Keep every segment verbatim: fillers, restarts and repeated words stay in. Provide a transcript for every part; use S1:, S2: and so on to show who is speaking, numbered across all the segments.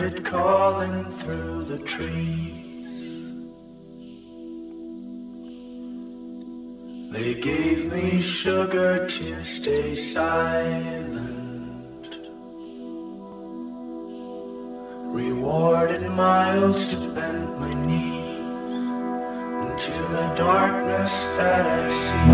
S1: it calling through the trees. They gave me sugar to stay silent, rewarded miles to bend my knees into the darkness that I see.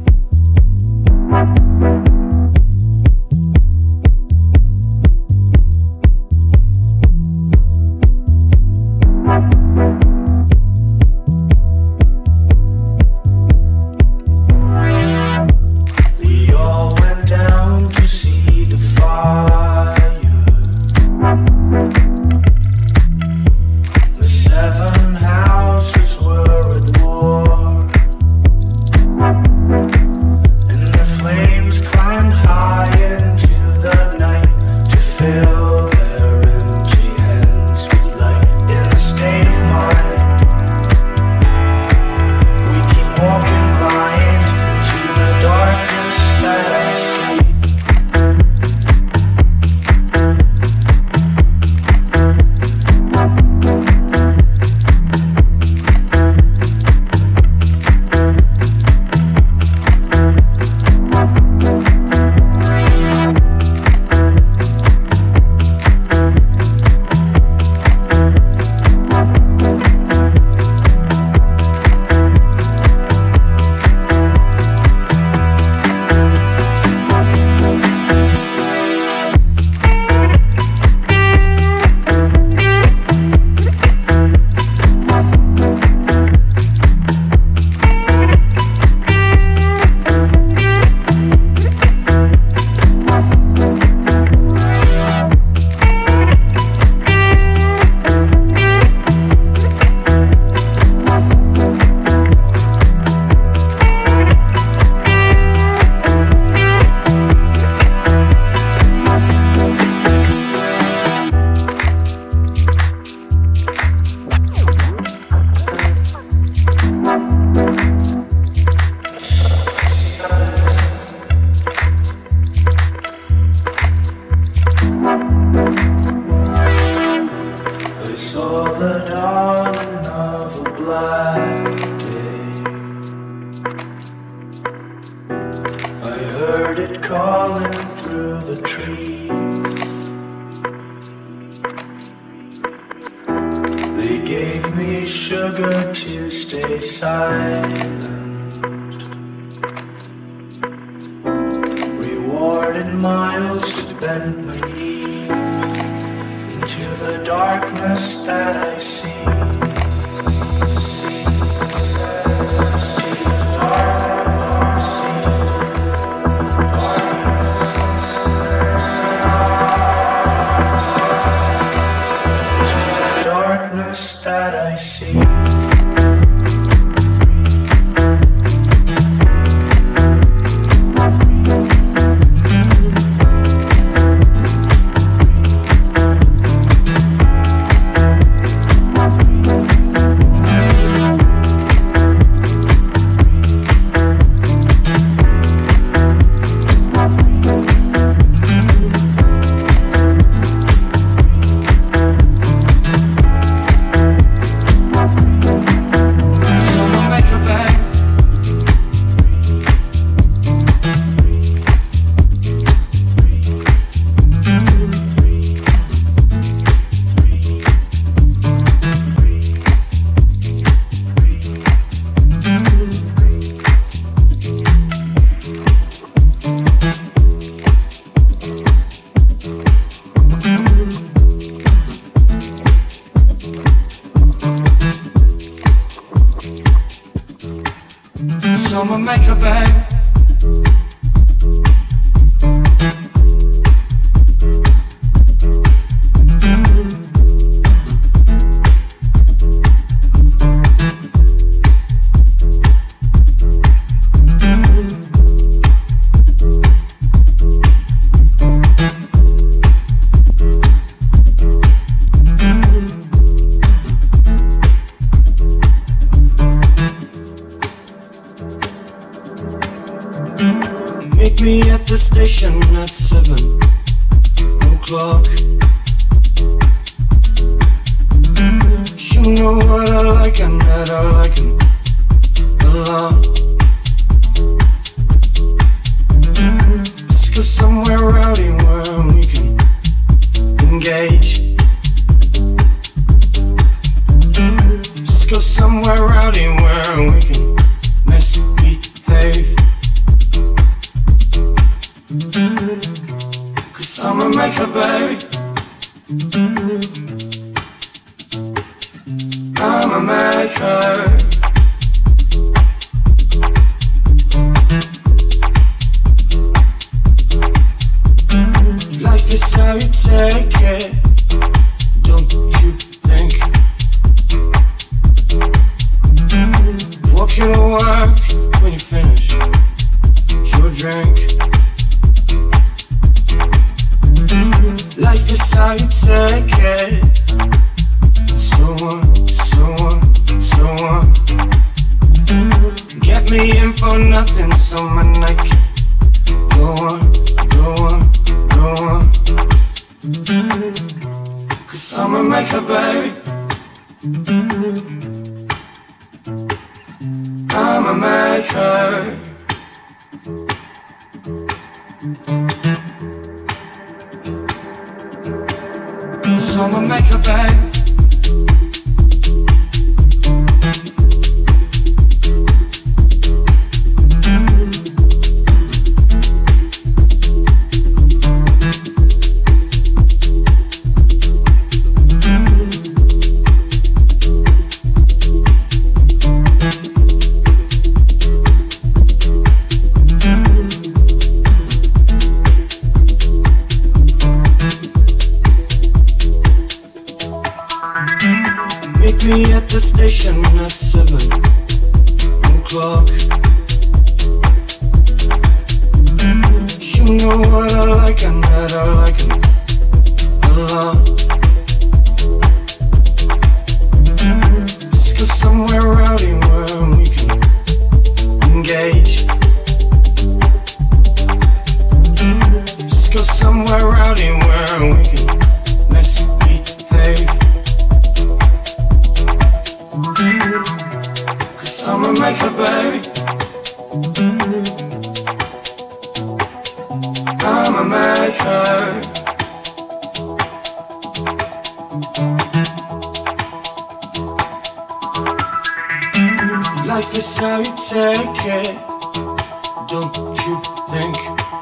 S2: Someone make a bed. Meet me at the station at seven o'clock. know what I like and that I like him a lot. Let's go somewhere rowdy where we can engage. Let's go somewhere rowdy where we can misbehave. Cause I'm a maker, baby. I'm a maker. Life is how you take it, don't you think? Walking to work when you finish your drink. Life is how you take it. So on, so on, so on. Get me in for nothing, so my night can go on, go on, go on. Cause I'm a maker, baby. I'm a maker. So I'm a maker, baby. Me at the station at seven o'clock. You know what I like and that I like him a lot. Let's go somewhere rowdy where we can engage. Let's go somewhere rowdy where we can misbehave. Cause I'm a maker, baby. I'm a maker. Life is how you take it, don't you think?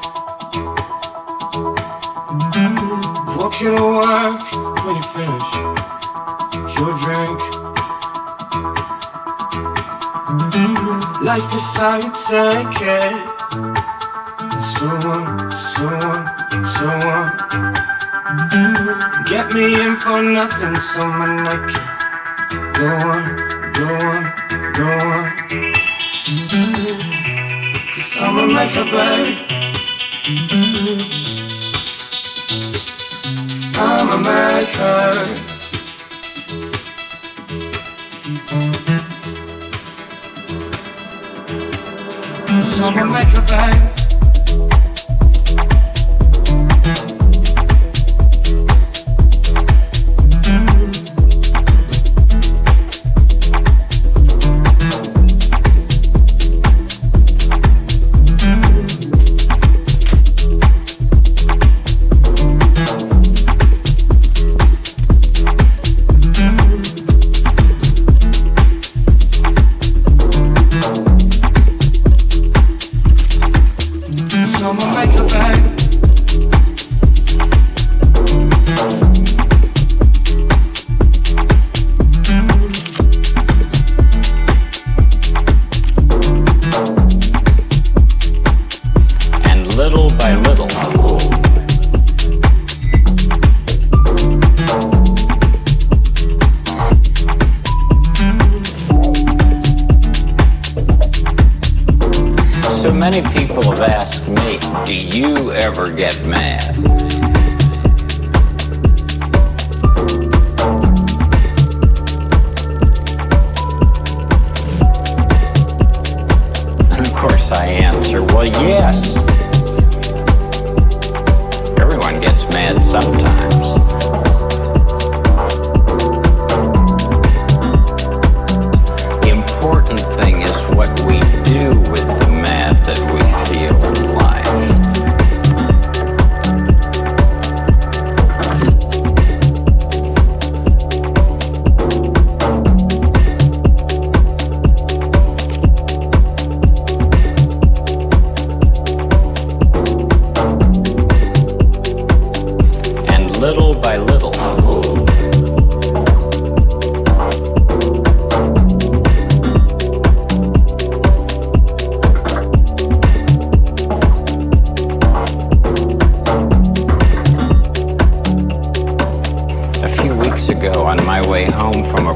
S2: Walking to work when you finish your drink. Life is how you take it. So on, so on, so on. Get me in for nothing, so my night can go on, go on, go on. Cause I'm a maker, baby. I'm a maker. So I'm a maker, baby.
S3: Sometimes.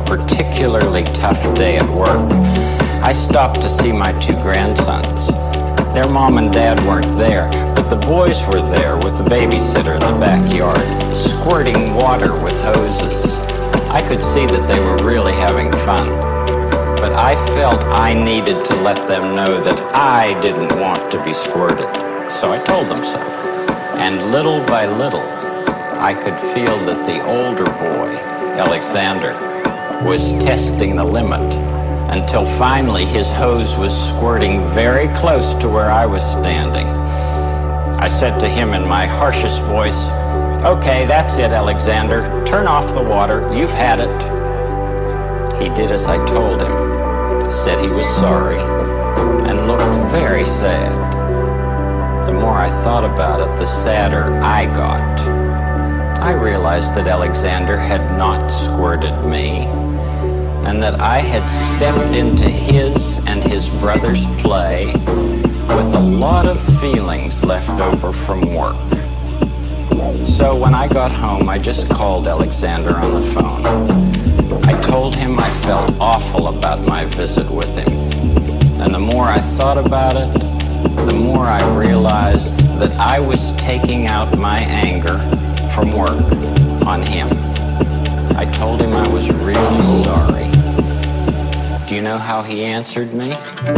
S3: particularly tough day at work, I stopped to see my two grandsons. Their mom and dad weren't there, but the boys were there with the babysitter in the backyard, squirting water with hoses. I could see that they were really having fun, but I felt I needed to let them know that I didn't want to be squirted, so I told them so. And little by little, I could feel that the older boy, Alexander, was testing the limit, until finally his hose was squirting very close to where I was standing. I said to him in my harshest voice, "Okay, that's it, Alexander. Turn off the water. You've had it." He did as I told him, said he was sorry, and looked very sad. The more I thought about it, the sadder I got. I realized that Alexander had not squirted me, and that I had stepped into his and his brother's play with a lot of feelings left over from work. So when I got home, I just called Alexander on the phone. I told him I felt awful about my visit with him, and the more I thought about it, the more I realized that I was taking out my anger from work on him. I told him I was really sorry. Do you know how he answered me?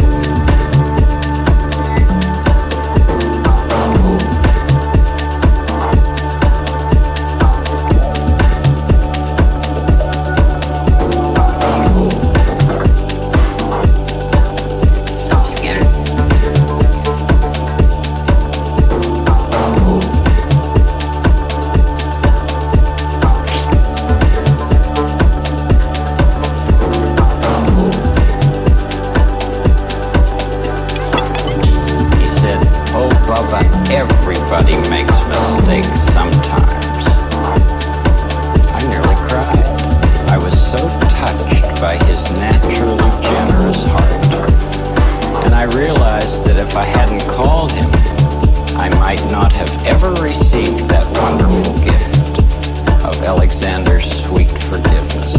S3: Everybody makes mistakes sometimes. I nearly cried. I was so touched by his naturally generous heart. And I realized that if I hadn't called him, I might not have ever received that wonderful gift of Alexander's sweet forgiveness.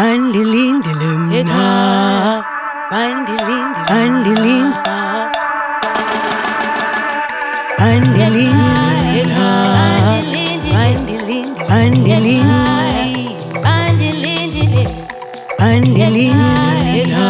S4: Andilindilumna, andilindilumna, andilindilumna, andilindilumna, andilindilumna, andilindilumna,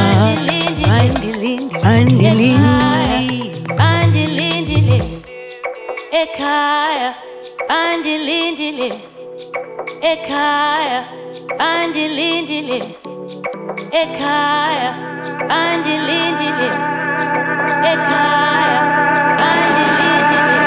S4: andilindilumna, ekaya, andilindilumna, ekaya. Andilindile, ekaya, andilindile, ekaya, andilindile.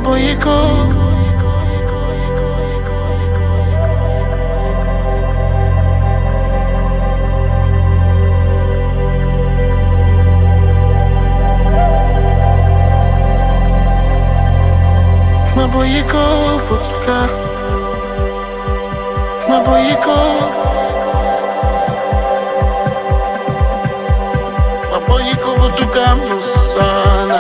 S2: Maboyiko. Maboyiko, Futuka. Maboyiko. Maboyiko, Futuka, Musana.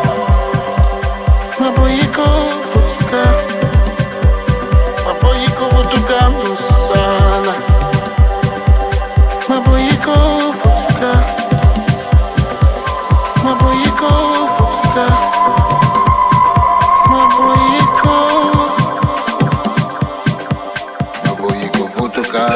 S2: Maboyiko, Futuka. Maboyiko, Futuka, Musana. Maboyiko, Futuka. Maboyiko, Futuka. Maboyiko. Maboyiko, Futuka.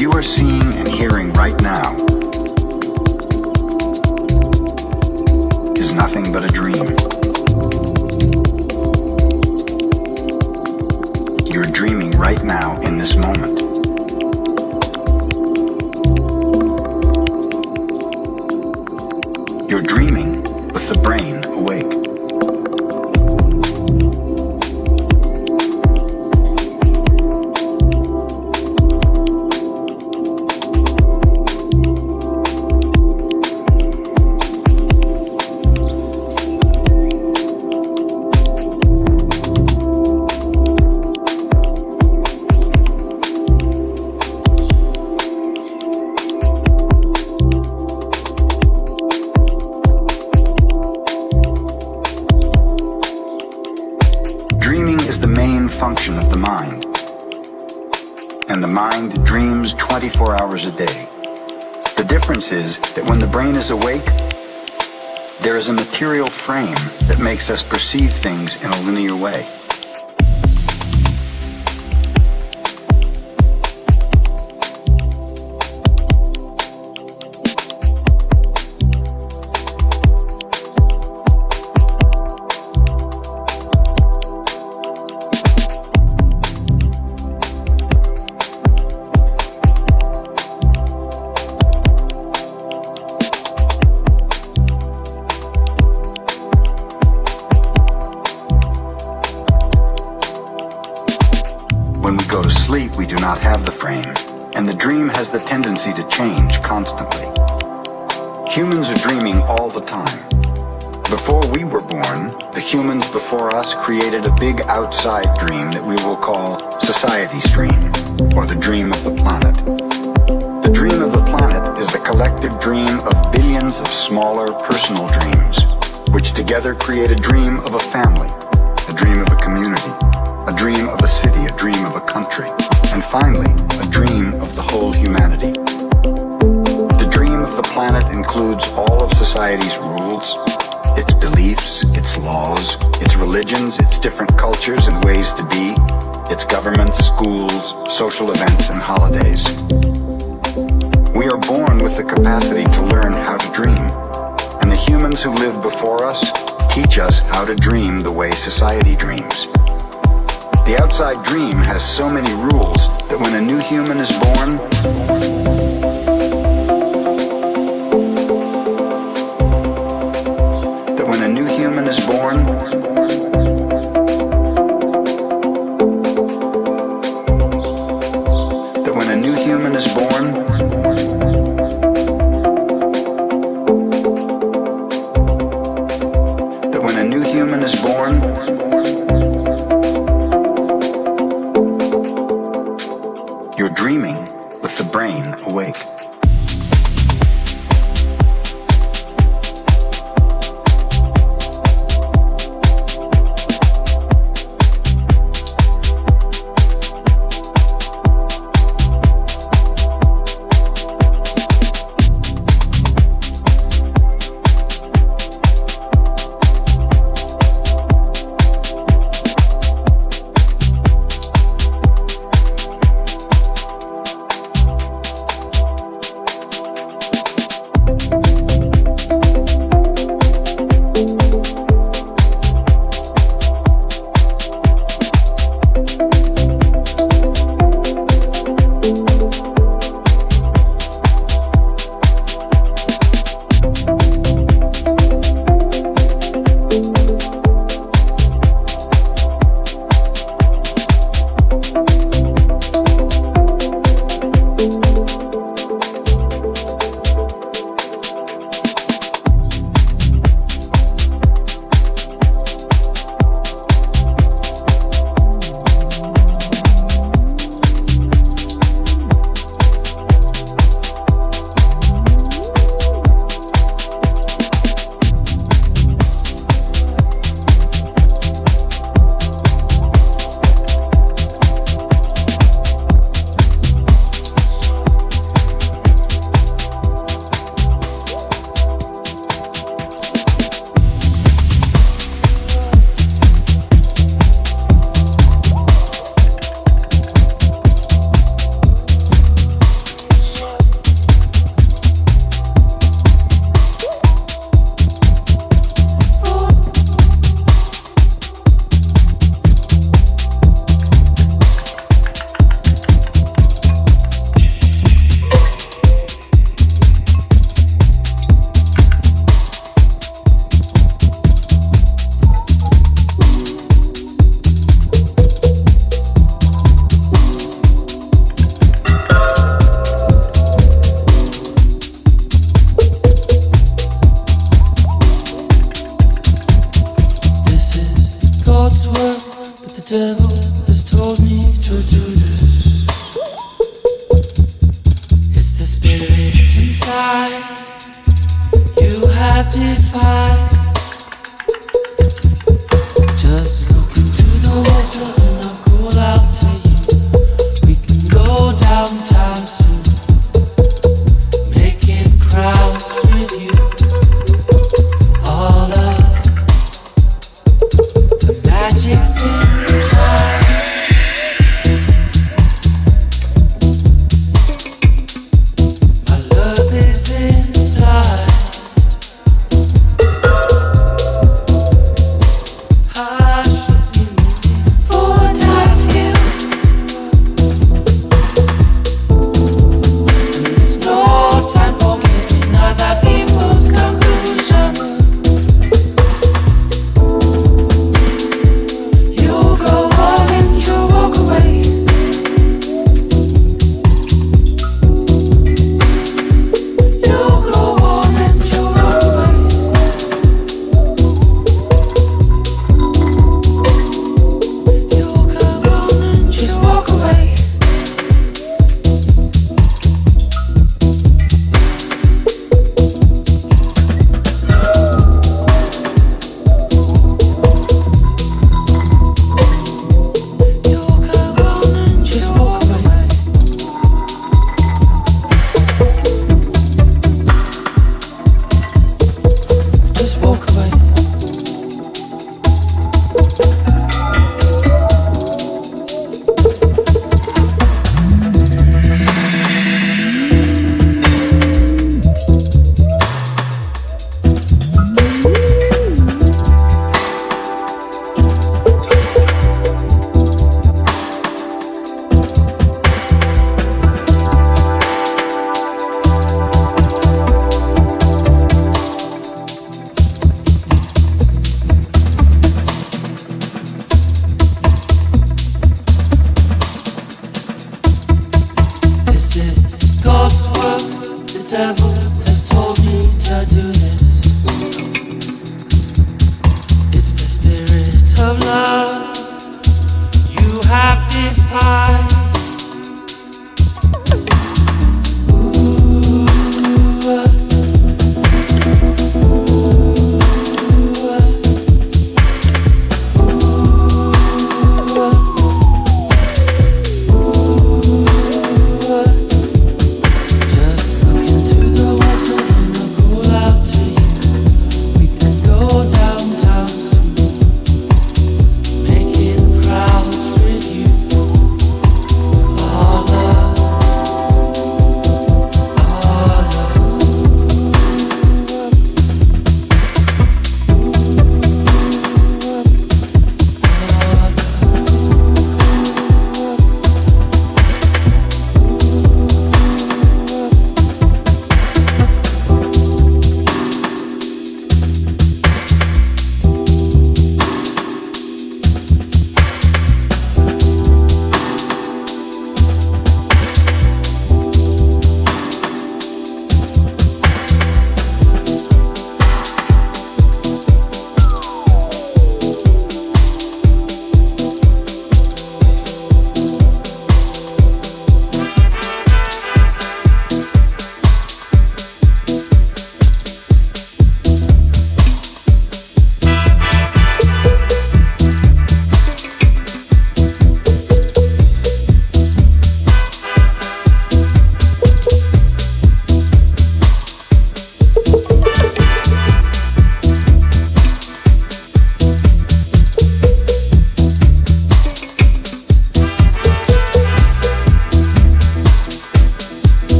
S5: you are seeing and hearing right now is nothing but a dream. You're dreaming right now in this moment. You're dreaming with the brain awake. Function of the mind. And the mind dreams twenty-four hours a day. The difference is that when the brain is awake, there is a material frame that makes us perceive things in a linear way. When we go to sleep, we do not have the frame, and the dream has the tendency to change constantly. Humans are dreaming all the time. Before we were born, the humans before us created a big outside dream that we will call society's dream, or the dream of the planet. The dream of the planet is the collective dream of billions of smaller personal dreams, which together create a dream of a family, a dream of a community, a dream of a city, a dream of a country, and finally, a dream of the whole humanity. The dream of the planet includes all of society's rules, its beliefs, its laws, its religions, its different cultures and ways to be, its governments, schools, social events, and holidays. We are born with the capacity to learn how to dream, and the humans who lived before us teach us how to dream the way society dreams. The outside dream has so many rules that when a new human is born, that when a new human is born, that when a new human is born, that when a new human is born, you're dreaming with the brain awake.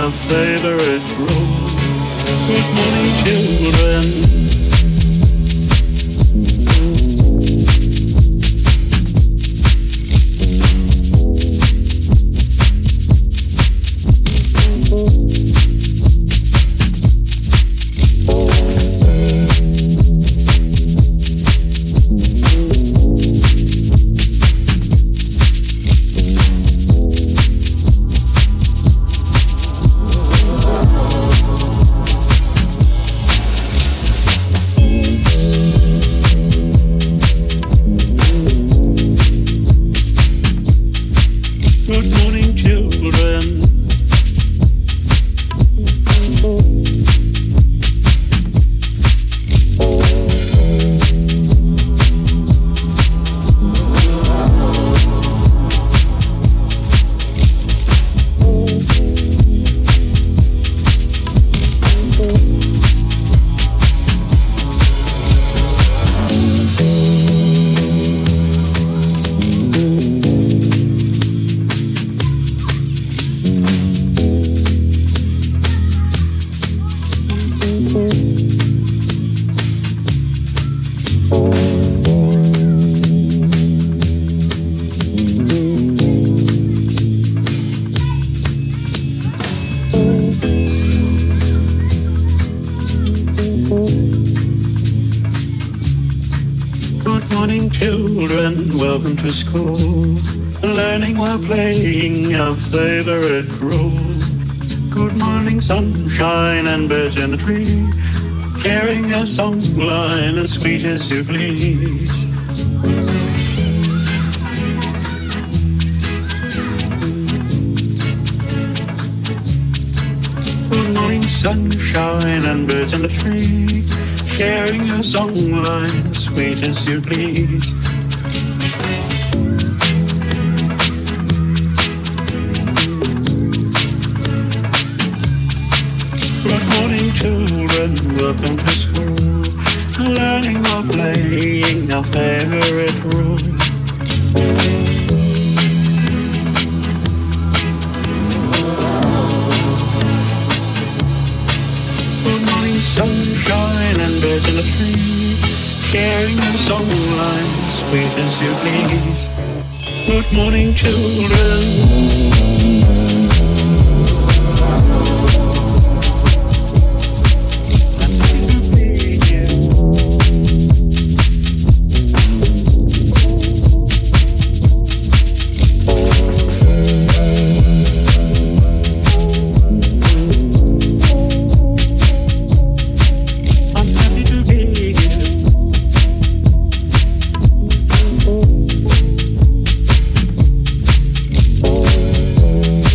S6: our favorite role. Good morning, children. Welcome to school, learning while playing our favorite role. Good morning, sunshine and birds in the tree, sharing a song line as sweet as you please. Good morning, sunshine and birds in the tree, sharing a song line as sweet as you please. Children, welcome to school, learning while playing our favorite role. Good morning, sunshine and birds in the tree, sharing a song line as sweet as you please. Good morning, children.
S2: Oh,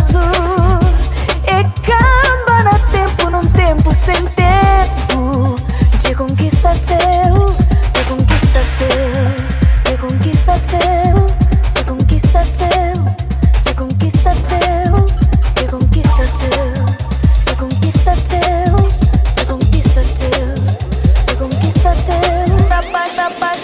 S4: azul e camba na tempo num tempo sem tempo. De conquista seu, de conquista seu, de conquista seu, de conquista seu, de conquista seu, de conquista seu, de conquista seu, de conquista seu, de conquista seu, da paz, da paz.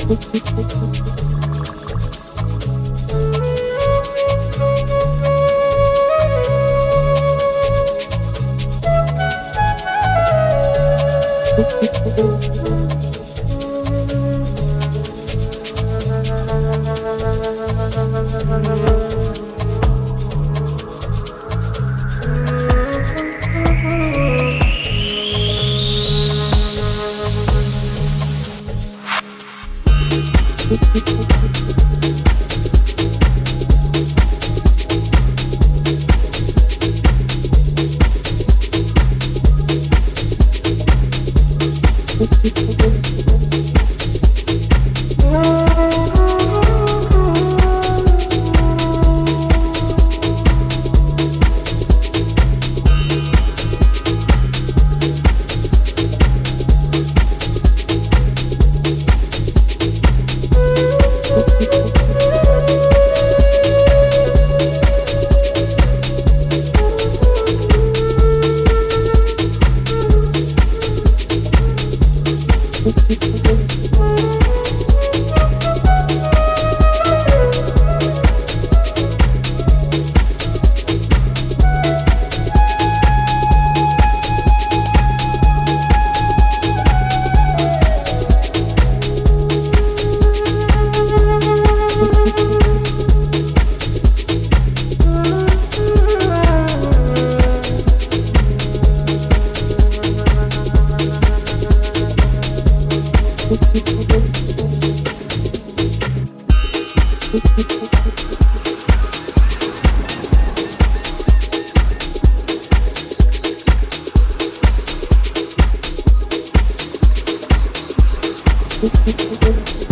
S7: Thank you.